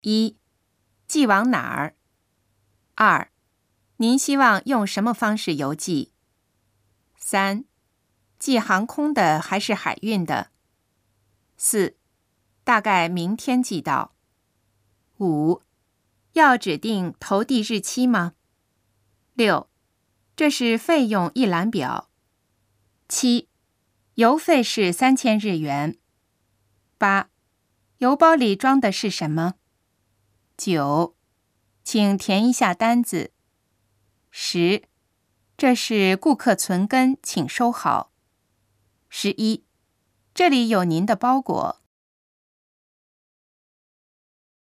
一、寄往哪儿？2、您希望用什么方式邮寄？3、寄航空的还是海运的？4、大概明天寄到。5、要指定投递日期吗？6、这是费用一览表。7、邮费是3000日元。8、邮包里装的是什么？9、请填一下单子。10、这是顾客存根，请收好。11、这里有您的包裹。